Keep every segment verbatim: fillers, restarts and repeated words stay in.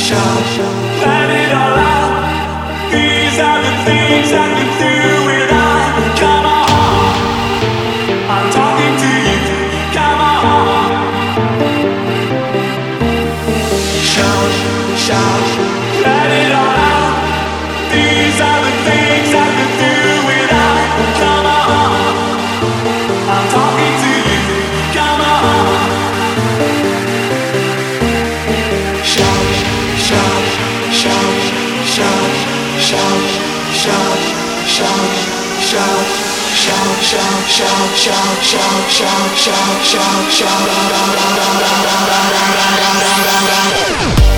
Let it all out. These are the things I can do without. Come on, I'm talking to you. Come on, shout, shout. Let it all out. These are the things I can do without. Come on, I'm talking to you. Come on, shout, shout, shout, shout, shout, shout, shout, shout, shout, shout, shout, shout, shout, shout, shout, shout, shout.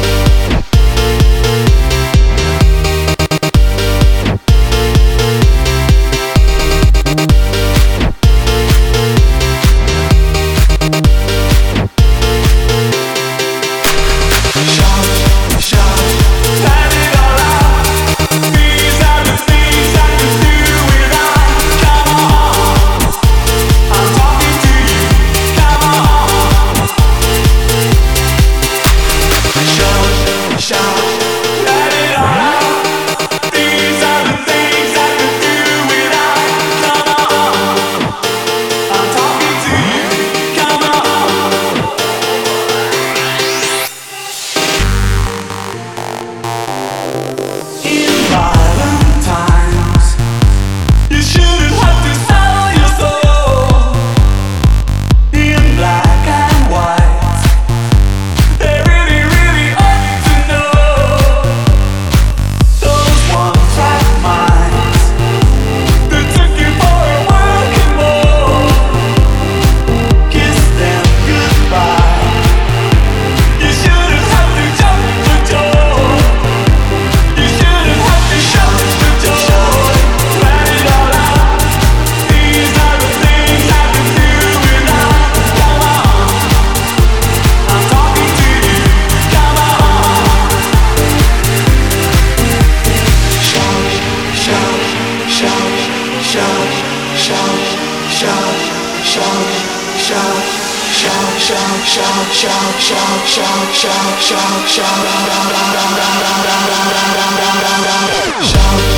Shout,